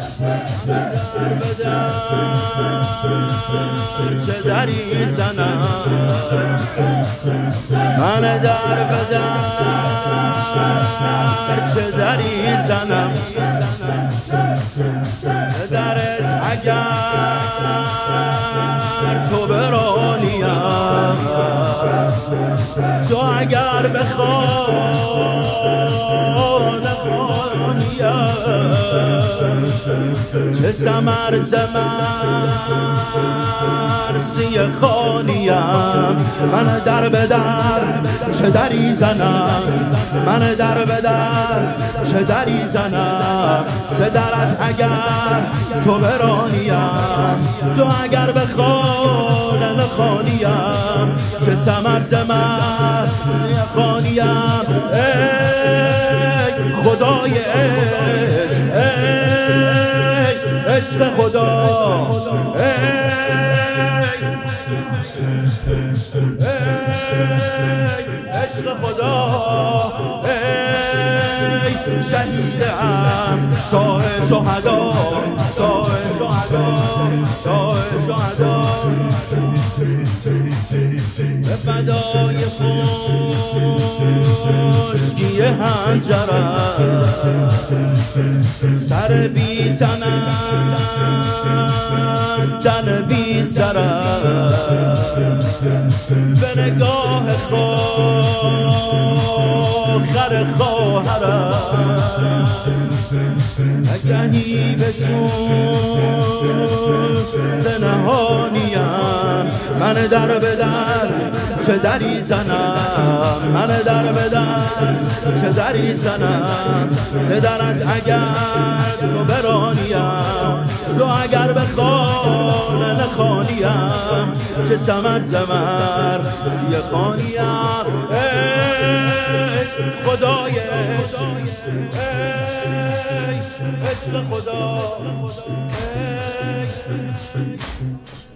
چه دری زنم من در بدر چه دری زنم درت اگر تو برانیم تو اگر بخوان چه زمر سی خانیم من در بدر چه دری زنم من در بدر چه دری زنم ز درت اگر تو برانیم تو اگر بخوان نخوانیم چه زمر سی خانیم ای خدای عشق خدا عشق خدا شهیدم شاه شهدا شاه شهدا به فدای خشکی هنجرم سر بی تنم تن بی سرم به نگاه خواهر خواهرم اگهی به تو زنهانیم من در بدر چه دری زنم من در بدر چه دری زنم ز درت اگر تو برانیم تو اگر بخوان نخوانیم چه زمر سی خانیم ای خدای عشق خدا